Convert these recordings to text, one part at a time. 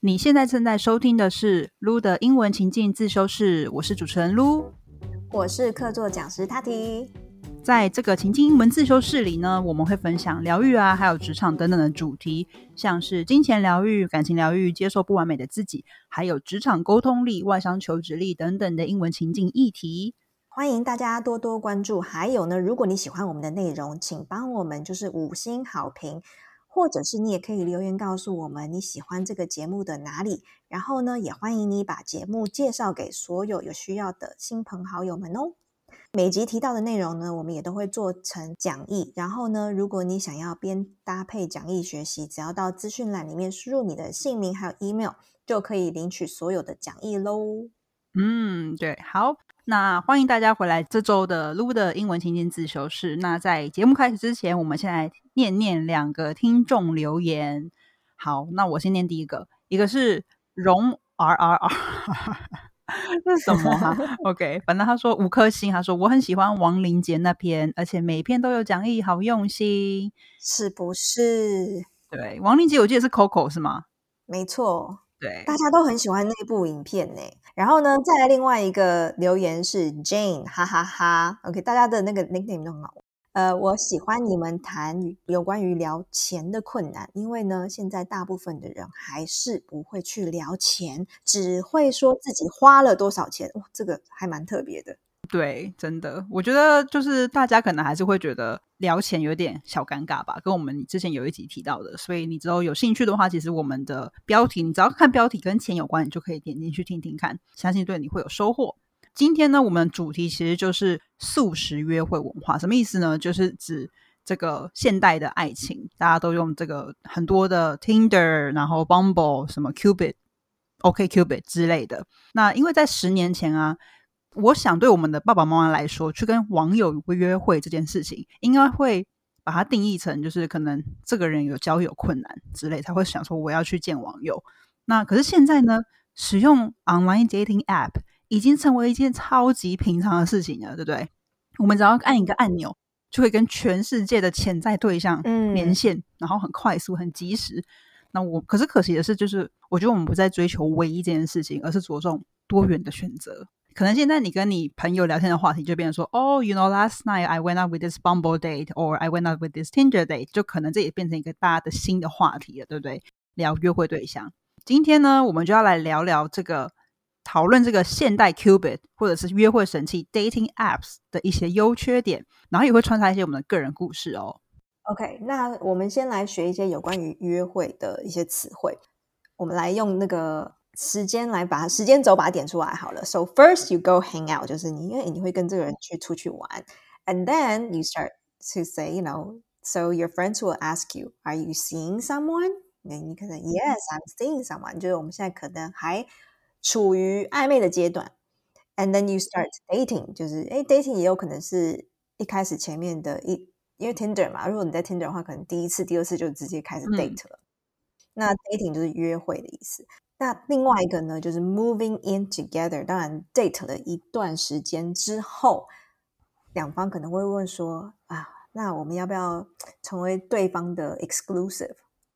你现在正在收听的是 Lu 的英文情境自修室，我是主持人 Lu， 我是客座讲师 Tati。 在这个情境英文自修室里呢，我们会分享疗愈啊，还有职场等等的主题，像是金钱疗愈、感情疗愈、接受不完美的自己，还有职场沟通力、外商求职力等等的英文情境议题。 欢迎大家多多关注，还有呢，如果你喜欢我们的内容，请帮我们就是5星好评，或者是你也可以留言告诉我们你喜欢这个节目的哪里，然后呢，也欢迎你把节目介绍给所有有需要的亲朋好友们哦。每集提到的内容呢，我们也都会做成讲义，然后呢，如果你想要边搭配讲义学习，只要到资讯栏里面输入你的姓名还有 email， 就可以领取所有的讲义咯。 对，好，那欢迎大家回来这周的 Lu 的英文情境自修室。那在节目开始之前，我们先来念2个听众留言。好，那我先念第一个，一个是荣 RRR 这是什么啊？OK， 反正他说5颗星，他说我很喜欢王林杰那篇，而且每一篇都有讲义，好用心， 是不是？ 对，王林杰我记得是 Coco 是吗？ 没错， 对， 大家都很喜欢那部影片呢。然后呢，再来另外一个留言是 Jane， 哈哈哈。OK， 大家的那个 nickname 都很好。我喜欢你们谈有关于聊钱的困难，因为呢，现在大部分的人还是不会去聊钱，只会说自己花了多少钱。这个还蛮特别的。 对，真的，我觉得就是大家可能还是会觉得聊钱有点小尴尬吧，跟我们之前有一集提到的，所以你之后有兴趣的话，其实我们的标题，你只要看标题跟钱有关，你就可以点进去听听看，相信对你会有收获。今天呢，我们的主题其实就是速食约会文化，什么意思呢？就是指这个现代的爱情，大家都用这个很多的 Tinder， 然后 Bumble， 什么 Cupid、OkCupid 之类的。那因为在10年前啊，我想对我们的爸爸妈妈来说，去跟网友约会这件事情，应该会把它定义成就是可能这个人有交友困难之类，才会想说我要去见网友。那可是现在呢，使用 online dating app 已经成为一件超级平常的事情了，对不对？我们只要按一个按钮，就可以跟全世界的潜在对象连线，然后很快速很及时。那可是可惜的是，就是我觉得我们不再追求唯一这件事情，而是着重多元的选择。可能现在你跟你朋友聊天的话题就变成说you know last night I went out with this Bumble date or I went out with this Tinder date， 就可能这也变成一个大家的新的话题了，对不对？聊约会对象。今天呢，我们就要来聊聊讨论这个现代 Cupid 或者是约会神器 dating apps 的一些优缺点，然后也会穿插一些我们的个人故事哦。 OK， 那我们先来学一些有关于约会的一些词汇。我们来用那个时间来把时间轴把它点出来好了。So first you go hang out， 就是因为你会跟这个人出去玩 ，and then you start to say, you know, so your friends will ask you, are you seeing someone？ 你可能 Yes, I'm seeing someone， 就是我们现在可能还处于暧昧的阶段。And then you start dating， 就是dating 也有可能是一开始前面的因为 Tinder 嘛，如果你在 Tinder 的话，可能第1次、第2次就直接开始 date 了。那 dating 就是约会的意思。那另外一个呢，就是 moving in together。当然 date 了一段时间之后，两方可能会问说那我们要不要成为对方的 exclusive？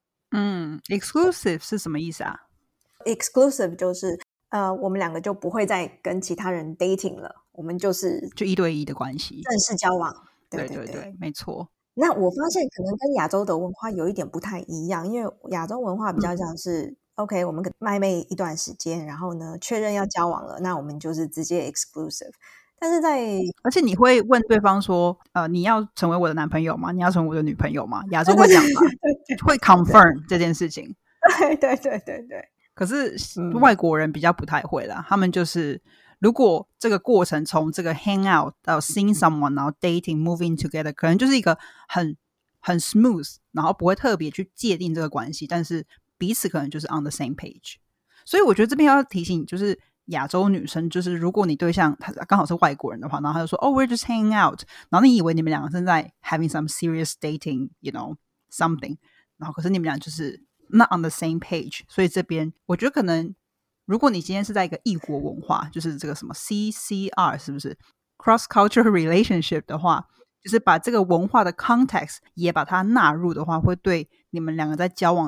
exclusive 是什么意思啊？ exclusive 就是我们两个就不会再跟其他人 dating 了，我们就 1对1的关系， 正式交往。 对对对，没错。 那我发现可能跟亚洲的文化有一点不太一样，因为亚洲文化比较像是OK， 我们可能暧昧一段时间，然后呢确认要交往了，那我们就是直接 exclusive。但是而且你会问对方说你要成为我的男朋友吗？你要成为我的女朋友吗？亚洲会讲吗？会 confirm 这件事情。 对对对对对。 可是外国人比较不太会啦，他们就是如果这个过程从这个 hang out 到 seeing someone， 然后 dating moving together， 可能就是一个很 smooth， 然后不会特别去界定这个关系，但是彼此可能就是 on the same page。 所以我觉得这边要提醒就是亚洲女生，就是如果你对象他刚好是外国人的话，然后他就说we're just hanging out， 然后你以为你们两个正在 having some serious dating you know something， 然后可是你们俩就是not on the same page。 所以这边我觉得可能如果你今天是在一个异国文化，就是这个什么 CCR 是不是 cross cultural relationship 的话，就是把这个文化的 context 也把它纳入的话，会对你们两个在交往的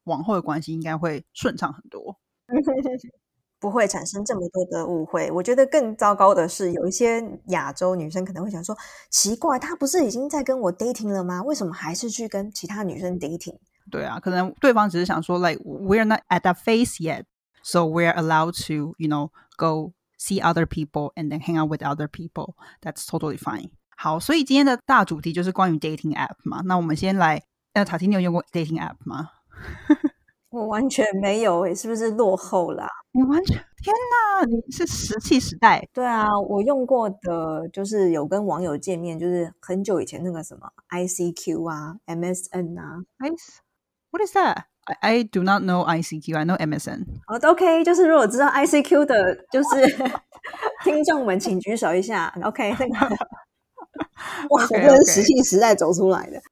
往后的关系应该会顺畅很多。 不会产生这么多的误会。我觉得更糟糕的是，有一些亚洲女生可能会想说，奇怪，他不是已经在跟我 dating 了吗？为什么还是去跟其他女生 dating？ 对啊，可能对方只是想说 like we're not at that phase yet, so we're allowed to go see other people and then hang out with other people. That's totally fine. 好，所以今天的大主题就是关于 dating app 嘛。那我们先来塔提，你有用过 dating app 吗？ 我完全没有诶，是不是落后啦？ 你完全，天哪，你是石器时代。 对啊，我用过的就是有跟网友见面，就是很久以前那个什么 ICQ 啊 MSN 啊。 What is that? I do not know ICQ. I know MSN. OK， 就是如果知道 ICQ 的就是听众们请举手一下。OK， 那个哇，我真的是石器时代走出来的。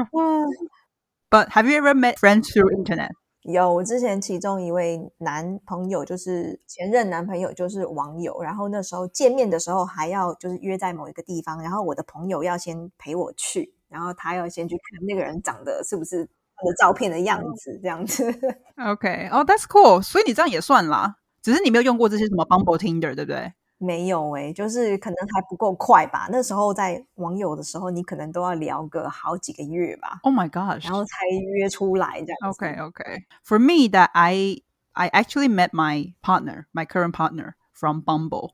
But have you ever met friends through internet? 有，我之前其中一位男朋友就是前任男朋友就是网友，然后那时候见面的时候还要就是约在某一个地方，然后我的朋友要先陪我去，然后他要先去看那个人长得是不是他的照片的样子这样子。 OK， that's cool。所以你这样也算啦，只是你没有用过这些什么 Bumble Tinder 对不对？ 没有欸，就是可能还不够快吧。那时候在网友的时候，你可能都要聊个好几个月吧。 Oh my gosh， 然后才约出来这样子。 Okay. For me, that I actually met my current partner from Bumble.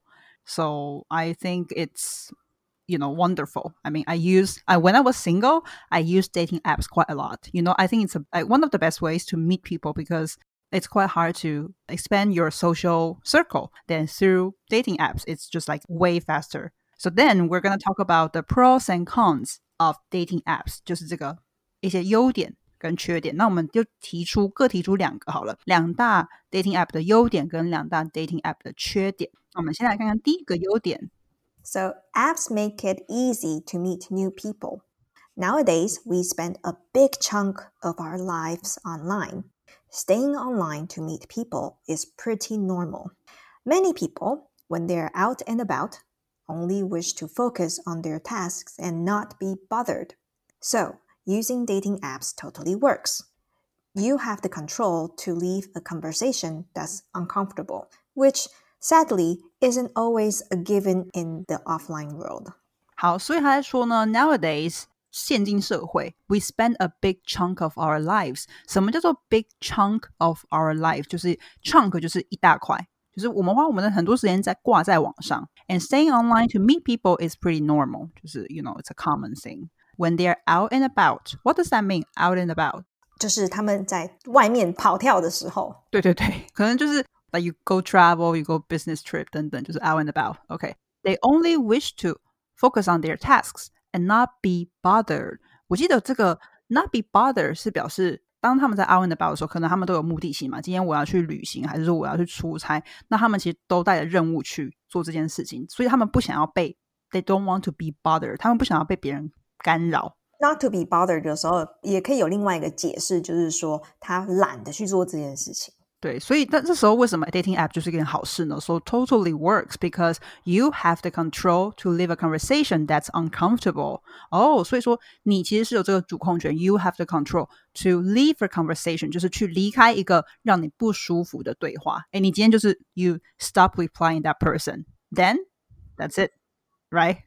So I think it's wonderful. I mean, when I was single, I used dating apps quite a lot. I think it's one of the best ways to meet people because it's quite hard to expand your social circle. Then through dating apps, it's just like way faster. So then we're going to talk about the pros and cons of dating apps. 就是这个一些优点跟缺点。那我们就各提出两个好了，两大 dating app 的优点跟两大 dating app 的缺点。那我们先来看看第一个优点。 So apps make it easy to meet new people. Nowadays, we spend a big chunk of our lives online. Staying online to meet people is pretty normal. Many people, when they're out and about, only wish to focus on their tasks and not be bothered. So, using dating apps totally works. You have the control to leave a conversation that's uncomfortable, which sadly isn't always a given in the offline world. 好，所以他在说呢 nowadays 现今社会 we spend a big chunk of our lives。 什么叫做 big chunk of our life？ 就是 chunk 就是一大块，就是我们花我们的很多时间挂在网上。 And staying online to meet people is pretty normal， 就是 it's a common thing. When they're out and about, what does that mean, out and about？ 就是他们在外面跑跳的时候。 对，可能就是 like you go travel, you go business trip 等等，就是 out and about. Okay. They only wish to focus on their tasks and not be bothered. 我记得这个 not be bothered 是表示当他们在 out and about 的时候，可能他们都有目的性嘛，今天我要去旅行还是说我要去出差，那他们其实都带着任务去做这件事情，所以他们不想要被 they don't want to be bothered， 他们不想要被别人干扰。 Not to be bothered 的时候也可以有另外一个解释，就是说他懒得去做这件事情。 对，所以这时候为什么 dating app 就是一件好事呢？ So totally works because you have the control to leave a conversation that's uncomfortable. 所以说你其实是有这个主控权， you have the control to leave a conversation， 就是去离开一个让你不舒服的对话。你今天就是 you stop replying that person, then that's it, right?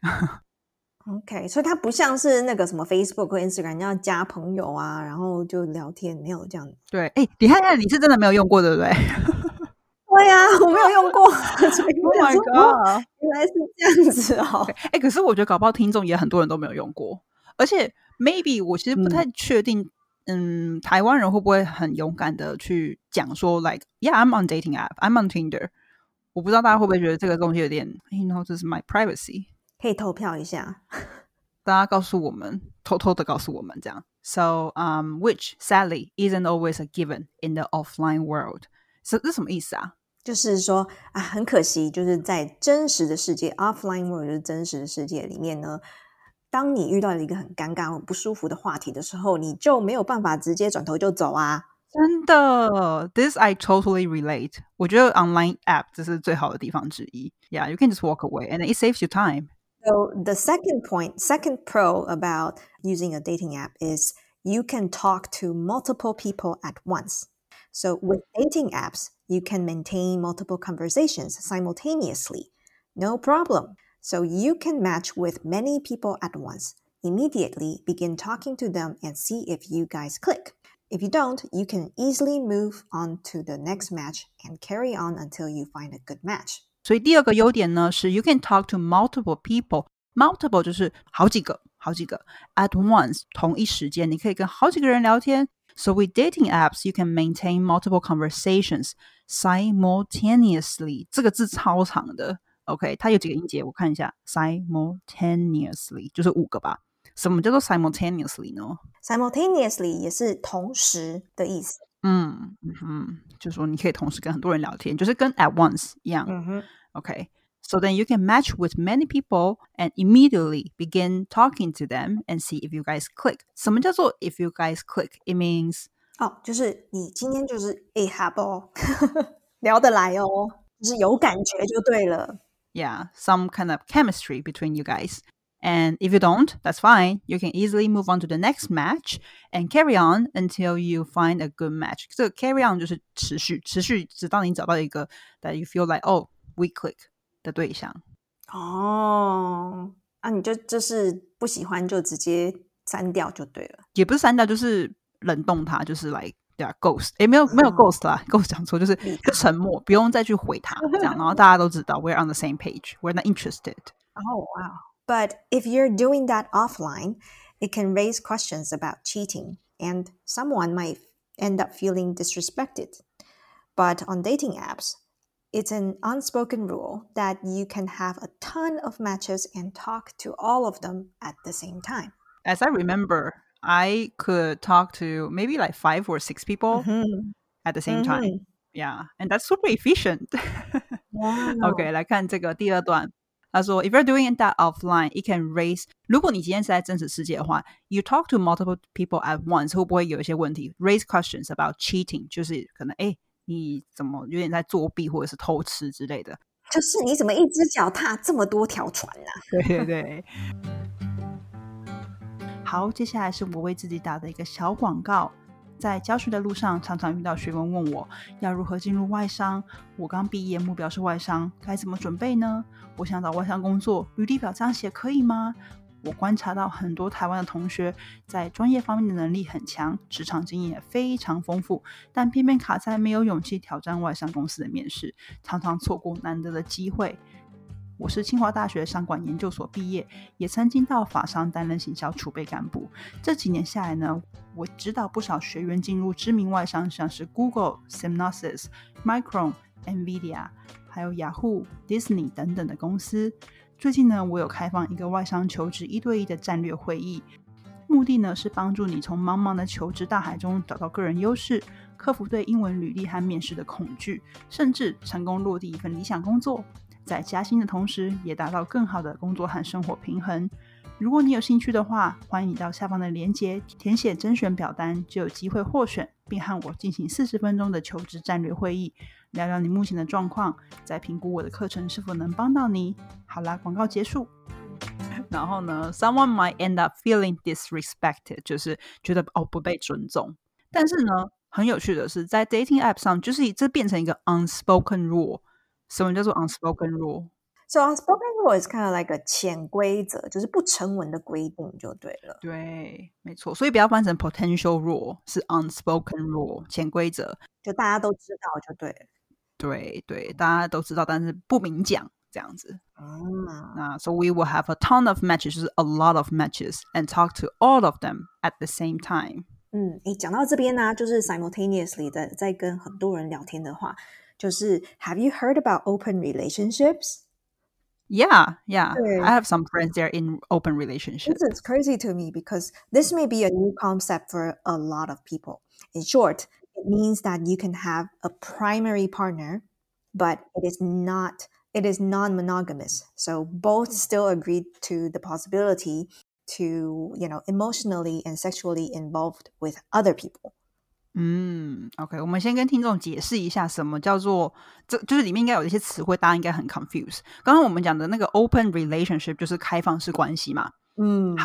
OK， 所以它不像是那个什么 Facebook 或 Instagram 你要加朋友啊，然后就聊天，没有这样。 对，你看看你是真的没有用过对不对？ 对啊，我没有用过。Oh my god， 原来是这样子哦。 可是我觉得搞不好听众也很多人都没有用过，而且 maybe 我其实不太确定台湾人会不会很勇敢的去讲说 like yeah I'm on dating app, I'm on Tinder。 我不知道大家会不会觉得这个东西有点这是 my privacy， 可以投票一下， 大家告诉我们，偷偷的告诉我们这样。So which sadly isn't always a given in the offline world。 这是什么意思啊？ 就是说啊，很可惜，就是在真实的世界 offline world 就是真实的世界里面呢，当你遇到了一个很尴尬或不舒服的话题的时候，你就没有办法直接转头就走啊。 真的 This I totally relate。 我觉得 online app 这是最好的地方之一。 Yeah, you can just walk away and it saves you time. So the second pro about using a dating app is you can talk to multiple people at once. So with dating apps, you can maintain multiple conversations simultaneously. No problem. So you can match with many people at once. Immediately begin talking to them and see if you guys click. If you don't, you can easily move on to the next match and carry on until you find a good match. 所以第二个优点呢是 you can talk to multiple people. Multiple 就是好几个 at once 同一时间你可以跟好几个人聊天。So with dating apps, you can maintain multiple conversations simultaneously. 这个字超长的 OK, 它有几个音节我看一下 simultaneously 就是5个吧。什么叫做 simultaneously 呢？ Simultaneously 也是同时的意思。 就是说你可以同时跟很多人聊天，就是跟 at once 一样。Okay, so then you can match with many people and immediately begin talking to them and see if you guys click. 什么叫做 if you guys click? It means 就是你今天就是好不好聊得来哦，就是有感觉就对了。 Yeah, some kind of chemistry between you guys. And if you don't, that's fine. You can easily move on to the next match and carry on until you find a good match. 这个 carry on 就是持续直到你找到一个 that you feel like, oh, we click 的对象。 你就是不喜欢就直接删掉就对了。 也不是删掉，就是冷冻它，就是 like ghost。没有 ghost 啦，ghost 讲错，就是沉默，不用再去回它这样，然后大家都知道 we're on the same page, we're not interested. Oh, wow. But if you're doing that offline, it can raise questions about cheating, and someone might end up feeling disrespected. But on dating apps, it's an unspoken rule that you can have a ton of matches and talk to all of them at the same time. As I remember, I could talk to maybe like 5 or 6 people at the same time. Yeah, and that's super efficient. Wow. OK, 来看这个第二段。他说 if you're doing that offline, it can raise 如果你今天是在真实世界的话 you talk to multiple people at once 会不会有一些问题 raise questions about cheating 就是可能你怎么有点在作弊或者是偷吃之类的， 就是你怎么一只脚踏这么多条船啊？ 对对对。好，接下来是我为自己打的一个小广告。在教学的路上常常遇到学生问我要如何进入外商，我刚毕业目标是外商，该怎么准备呢？我想找外商工作，履历表这样写可以吗？我观察到很多台湾的同学在专业方面的能力很强，职场经验也非常丰富，但偏偏卡在没有勇气挑战外商公司的面试，常常错过难得的机会。我是清华大学商管研究所毕业，也曾经到法商担任行销储备干部。这几年下来呢，我指导不少学员进入知名外商，像是 Google、Synopsys、Micron、NVIDIA， 还有雅虎、Disney 等等的公司。最近呢，我有开放一个外商求职1对1的战略会议，目的呢是帮助你从茫茫的求职大海中找到个人优势，克服对英文履历和面试的恐惧，甚至成功落地一份理想工作。在加薪的同时也达到更好的工作和生活平衡。如果你有兴趣的话，欢迎到下方的连结填写甄选表单，就有机会获选，并和我进行40分钟的求职战略会议，聊聊你目前的状况，再评估我的课程是否能帮到你。好啦，广告结束。然后呢 someone might end up feeling disrespected， 就是觉得不被尊重。但是呢很有趣的是，在 dating app 上就是这变成一个 unspoken rule。什么叫做 unspoken rule? So unspoken rule is kind of like a 潜规则，就是不成文的规定就对了。 对，没错，所以不要翻成 potential rule， 是 unspoken rule 潜规则， 就大家都知道就对了。 对对，大家都知道，但是不明讲这样子。那 so we will have a ton of matches， 就是 a lot of matches and talk to all of them at the same time。 讲到这边呢，就是 simultaneously 的在跟很多人聊天的话，就是 Have you heard about open relationships? Yeah. I have some friends there in open relationships. It's crazy to me because this may be a new concept for a lot of people. In short, it means that you can have a primary partner, but it is non-monogamous. So both still agree to the possibility to, emotionally and sexually involved with other people. OK， 我们先跟听众解释一下什么叫做，这就是里面应该有一些词汇，大家应该很 confused。刚刚我们讲的那个 open relationship 就是开放式关系嘛。好，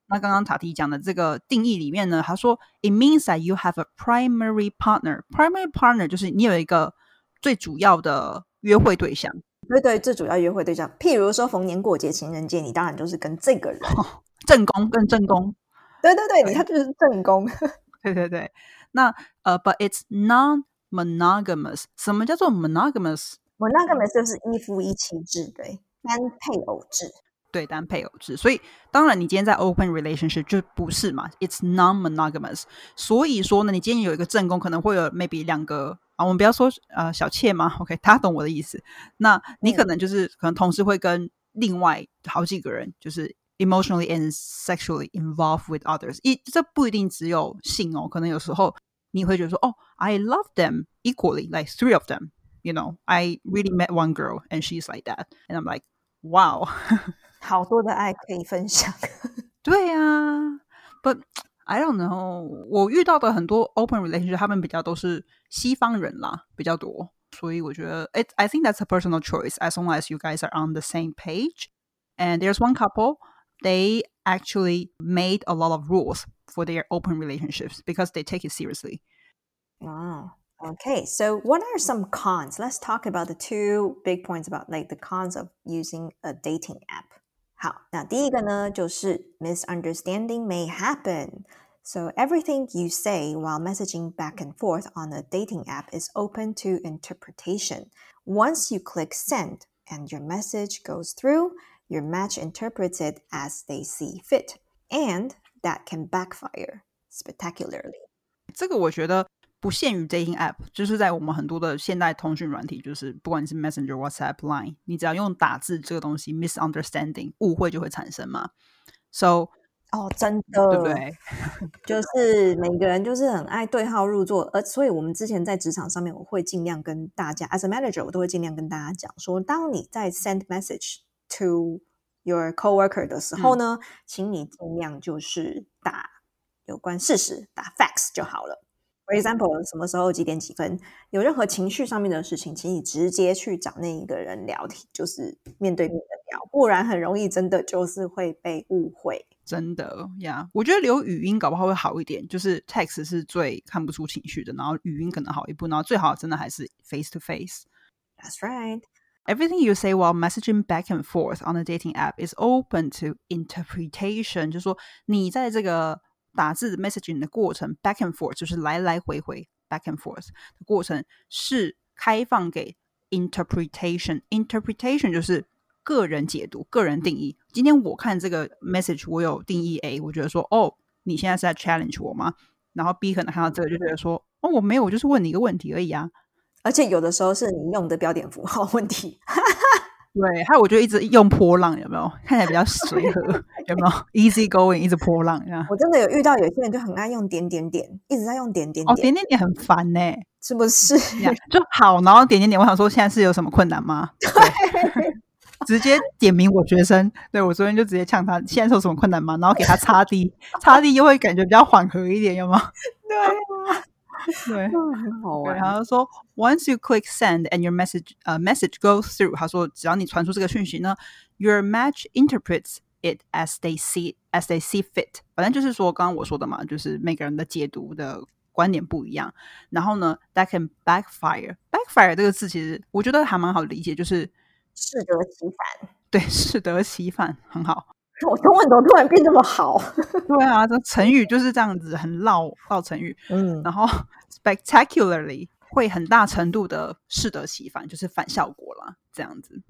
那刚刚塔提讲的这个定义里面呢，他说 It means that you have a primary partner. Primary partner 就是你有一个最主要的约会对象。 对对，最主要约会对象，譬如说逢年过节、情人节，你当然就是跟这个人。 正宫跟正宫。 对对对，他就是正宫。 对对对。那but it's non-monogamous. 什么叫做 monogamous？monogamous 就是一夫一妻制，对，单配偶制。 对，单配偶制。所以当然你今天在 open relationship 就不是嘛， it's non-monogamous。 所以说呢，你今天有一个正宫，可能会有 maybe 2个我们不要说小妾嘛 OK 大家懂我的意思。那你可能就是可能同时会跟另外好几个人就是 emotionally and sexually involved with others。 这不一定只有性哦，可能有时候你会觉得说I love them equally, like 3 of them, you know, I really met one girl and she's like that, and I'm like wow 好多的爱可以分享。 对啊 but I don't know， 我遇到的很多 open relationship 他们比较都是西方人啦，比较多，所以我觉得 I think that's a personal choice as long as you guys are on the same page. And there's one couple, they actually made a lot of rules for their open relationships because they take it seriously. Wow. Okay, so what are some cons? Let's talk about the 2 big points about like the cons of using a dating app. 好，那第一个呢，就是 misunderstanding may happen. So everything you say while messaging back and forth on a dating app is open to interpretation. Once you click send and your message goes through, your match interprets it as they see fit. And that can backfire spectacularly. 这个我觉得不限于 dating app， 就是在我们很多的现代通讯软体，就是不管你是 Messenger、WhatsApp、Line， 你只要用打字这个东西 misunderstanding 误会就会产生嘛。 So 真的， 对不对？ 就是每个人就是很爱对号入座，所以我们之前在职场上面，我会尽量跟大家 as a manager 我都会尽量跟大家讲说，当你在 send message to your coworker 的时候呢，请你尽量就是打有关事实，打 facts 就好了。For example， 什么时候几点几分，有任何情绪上面的事情，请你直接去找那一个人聊天，就是面对面的聊，不然很容易真的就是会被误会。 真的呀，我觉得留语音搞不好会好一点，就是 text 是最看不出情绪的，然后语音可能好一步，然后最好真的还是 face to face. That's right. Everything you say while messaging back and forth on a dating app is open to interpretation. 就是说你在这个打字 messaging 的过程 back and forth 就是来来回回 back and forth 的过程是开放给 interpretation. Interpretation 就是个人解读，个人定义。今天我看这个 message 我有定义 A， 我觉得说你现在是在 challenge 我吗？然后 B 可能看到这个就觉得说我没有，我就是问你一个问题而已啊。 而且有的时候是你用的标点符号问题。 对，还有我就一直用波浪，有没有看起来比较随和有没有 easy going 一直波浪这样。 我真的有遇到有些人就很爱用点点点，一直在用点点点。 点点点很烦呢， 是不是？ 就好，然后点点点，我想说现在是有什么困难吗？对，直接点名我学生，对，我昨天就直接呛他现在是有什么困难吗？然后给他擦地擦地又会感觉比较缓和一点，有吗？ 对啊， 对， 很好玩。 然后说 Once you click send and your message goes through， 他说只要你传出这个讯息呢 your match interprets it as they see fit。 反正就是说刚刚我说的嘛，就是每个人的解读的观点不一样，然后呢 that can backfire 这个字其实我觉得还蛮好理解，就是适得其反。 对，适得其反，很好。 我中文怎么突然变这么好？ 对啊，这成语就是这样子，很绕成语。然后 spectacularly 会很大程度的适得其反，就是反效果啦，这样子。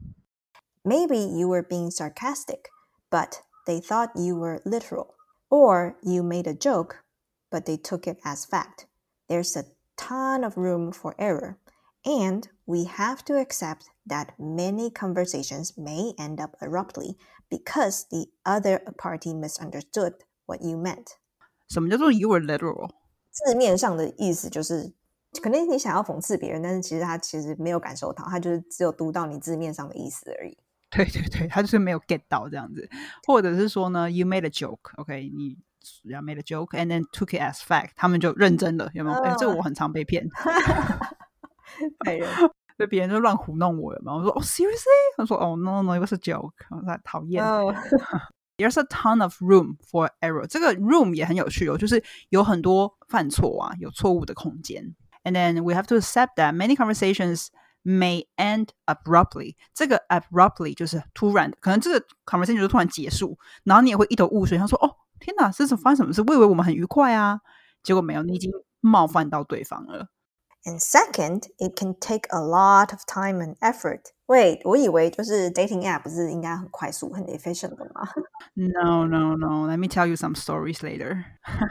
Maybe you were being sarcastic, but they thought you were literal. Or you made a joke, but they took it as fact. There's a ton of room for error. And we have to accept that many conversations may end up abruptly because the other party misunderstood what you meant. 什么叫做 you were literal？ 字面上的意思就是可能你想要讽刺别人，但是其实他其实没有感受到，他就是只有读到你字面上的意思而已。 对对对，他就是没有 get 到这样子。或者是说呢 you made a joke, OK， 你made a joke and then took it as fact， 他们就认真了，有没有？这个我很常被骗。对，别人就乱胡弄我，有没有？我说seriously？ 他说no, it was a joke， 我说讨厌。 There's a ton of room for error. 这个 room 也很有趣哦，就是有很多犯错啊，有错误的空间。And then we have to accept that many conversations may end abruptly. 这个 abruptly 就是突然，可能这个 conversation 就突然结束，然后你也会一头雾水，他说：“哦，天哪，这是发生什么事？我以为我们很愉快啊，结果没有，你已经冒犯到对方了。” And second, it can take a lot of time and effort. Wait, 我以为就是 dating app 不是应该很快速、很 efficient 的吗？ No. Let me tell you some stories later.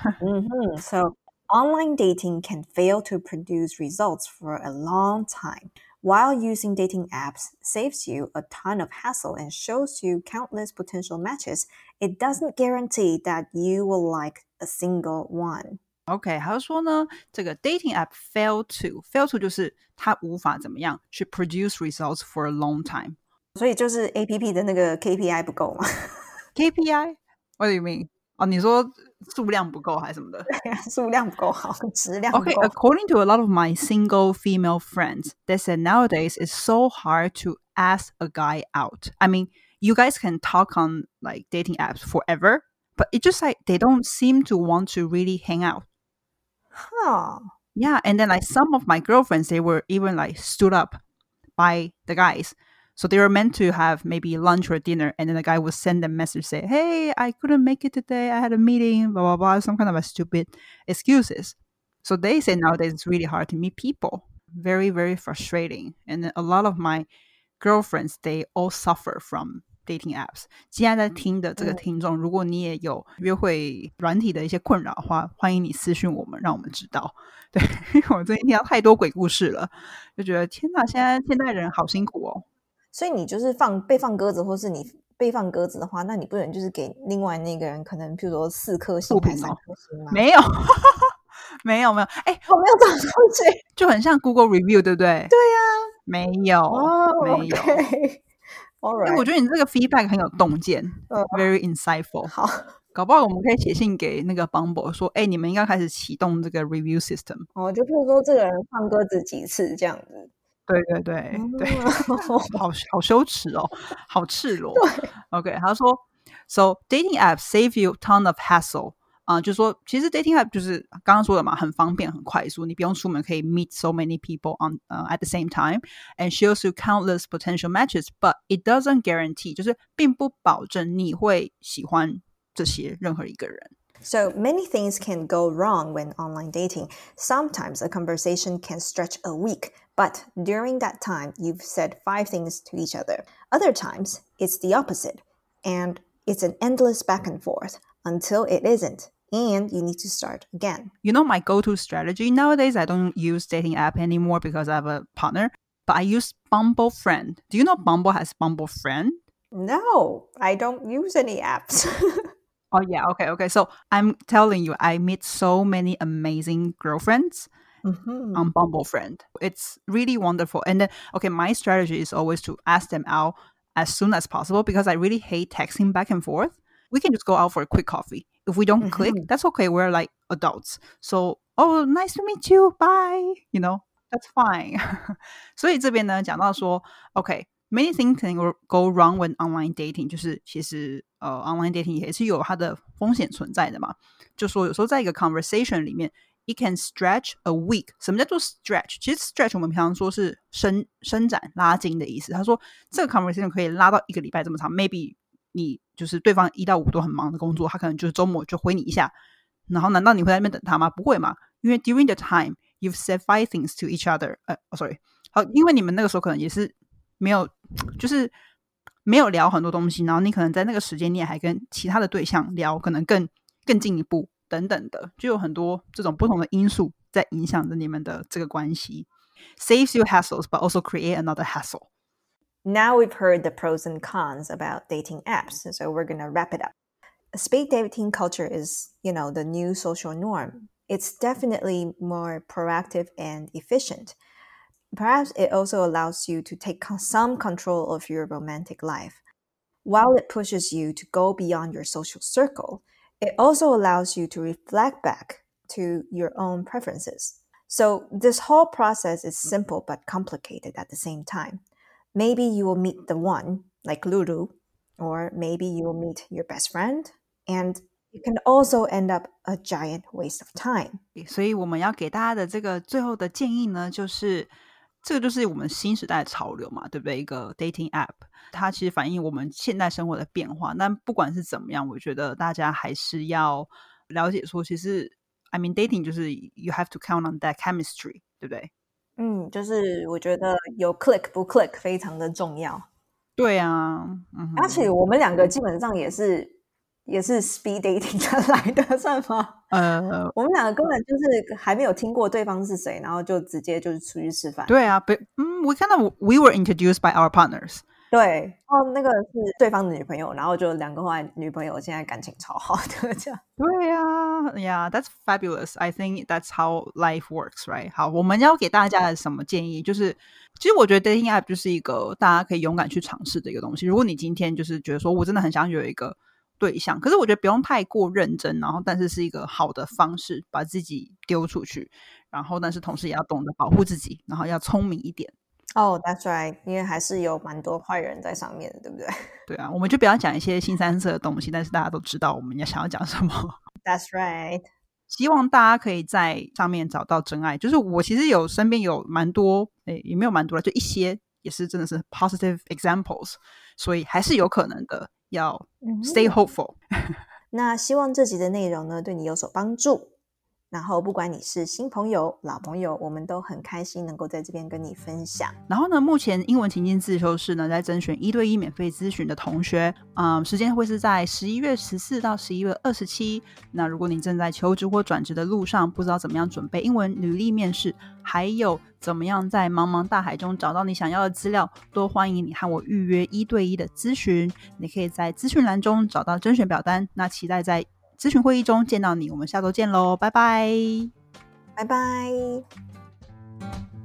So, online dating can fail to produce results for a long time. While using dating apps saves you a ton of hassle and shows you countless potential matches, it doesn't guarantee that you will like a single one. OK， 还有说呢，这个 dating app fail to 就是它无法怎么样去 produce results for a long time。 所以就是 APP 的那个 KPI 不够吗？ KPI? What do you mean? 哦，你说数量不够还是什么的？ 数量不够好，质量不够。 Okay, according to a lot of my single female friends, they said nowadays it's so hard to ask a guy out. I mean, you guys can talk on like dating apps forever, but it's just like they don't seem to want to really hang out. Huh. Yeah, and then like some of my girlfriends, they were even like stood up by the guys. So they were meant to have maybe lunch or dinner, and then the guy would send them a message say, "Hey, I couldn't make it today. I had a meeting, blah blah blah," some kind of a stupid excuses. So they say nowadays it's really hard to meet people. Very, very frustrating. And then a lot of my girlfriends, they all suffer from dating apps. 现在在听的这个听众，如果你也有约会软体的一些困扰的话，欢迎你私讯我们，让我们知道。对，因为我最近听到太多鬼故事了，就觉得天哪，现代人好辛苦哦。 所以你就是被放鸽子，或是你被放鸽子的话，那你不能就是给另外那个人可能，譬如说4颗星还是3颗星吗？ 没有，没有， 哎，我没有这种东西， 就很像 Google Review， 对不对？ 对呀， 没有，没有。 Okay. 我觉得你这个 feedback 很有洞见，very insightful。 好， 搞不好我们可以写信给那个 Bumble 说，哎，你们应该开始启动这个 review system。 就譬如说这个人放鸽子几次这样子。 对，好羞耻哦，好赤裸。OK， 他说 ，So dating apps save you ton of hassle。就是说，其实 dating app 就是刚刚说的嘛，很方便，很快速，你不用出门可以 meet so many people on at the same time and shows you countless potential matches, but it doesn't guarantee， 就是并不保证你会喜欢这些任何一个人。 So many things can go wrong when online dating. Sometimes a conversation can stretch a week, but during that time, you've said 5 things to each other. Other times, it's the opposite, and it's an endless back and forth until it isn't, and you need to start again. You know my go-to strategy? Nowadays, I don't use dating app anymore because I have a partner, but I use Bumble Friend. Do you know Bumble has Bumble Friend? No, I don't use any apps. Oh, yeah. Okay. So I'm telling you, I meet so many amazing girlfriends on Bumble Friend. It's really wonderful. And then, okay, my strategy is always to ask them out as soon as possible because I really hate texting back and forth. We can just go out for a quick coffee. If we don't click, that's okay. We're like adults. So, oh, nice to meet you. Bye. You know, that's fine. 所以这边呢，讲到说 OK，many things can go wrong when online dating， 就是其实online dating 也是有它的风险存在的嘛。就说有时候在一个 conversation 里面 ，it can stretch a week。什么叫做 stretch？ 其实 stretch 我们平常说是伸展、拉筋的意思。他说这个 conversation 可以拉到1个礼拜这么长 ，maybe 你就是对方1到5都很忙的工作，他可能就是周末就回你一下。然后难道你会在那边等他吗？不会嘛，因为 during the time you've said 5 things to each other。sorry， 好，因为你们那个时候可能也是。没有，就是没有聊很多东西，然后你可能在那个时间你也还跟其他的对象聊，可能更进一步等等的，就有很多这种不同的因素在影响着你们的这个关系。Saves you hassles, but also create another hassle. Now we've heard the pros and cons about dating apps, so we're going to wrap it up. Speed dating culture is, the new social norm. It's definitely more proactive and efficient.Perhaps it also allows you to take some control of your romantic life. While it pushes you to go beyond your social circle, it also allows you to reflect back to your own preferences. So this whole process is simple but complicated at the same time. Maybe you will meet the one, like Lulu, or maybe you will meet your best friend, and it can also end up a giant waste of time. 所以我们要给大家的这个最后的建议呢，就是这个就是我们新时代的潮流嘛，对不对？一个 dating app， 它其实反映我们现代生活的变化。但不管是怎么样，我觉得大家还是要了解说，其实 I mean dating 就是 you have to count on that chemistry， 对不对？ 就是我觉得有 click 不 click 非常的重要。 对啊， 而且我们两个基本上也是 speed dating 来的，算吗？我们两个根本就是还没有听过对方是谁，然后就直接就是出去吃饭。 对啊we were introduced by our partners。 对，那个是对方的女朋友，然后就两个后来女朋友现在感情超好的这样。 对啊 Yeah, that's fabulous. I think that's how life works, right? 好，我们要给大家的什么建议就是其实我觉得 dating app 就是一个大家可以勇敢去尝试的一个东西。如果你今天就是觉得说我真的很想有一个对象，可是我觉得不用太过认真，然后但是是一个好的方式把自己丢出去，然后但是同时也要懂得保护自己，然后要聪明一点。 That's right， 因为还是有蛮多坏人在上面的，对不对？ 对啊，我们就不要讲一些新三色的东西，但是大家都知道我们想要讲什么。 That's right。 希望大家可以在上面找到真爱。就是我其实身边有蛮多也没有蛮多了，就一些也是真的是 positive examples， 所以还是有可能的，要 stay hopeful。 那希望这集的内容呢对你有所帮助，然后不管你是新朋友老朋友，我们都很开心能够在这边跟你分享。 然后呢，目前英文情境自修室呢在甄选1对1免费咨询的同学，时间会是在11月14到11月27。那如果你正在求职或转职的路上，不知道怎么样准备英文履历面试，还有怎么样在茫茫大海中找到你想要的资料，都欢迎你和我预约1对1的咨询。你可以在资讯栏中找到甄选表单，那期待在咨询会议中见到你。我们下周见咯，拜拜。 拜拜。